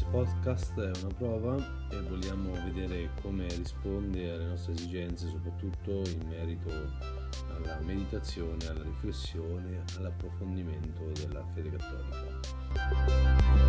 podcast è una prova e vogliamo vedere come risponde alle nostre esigenze, soprattutto in merito alla meditazione, alla riflessione, all'approfondimento della fede cattolica.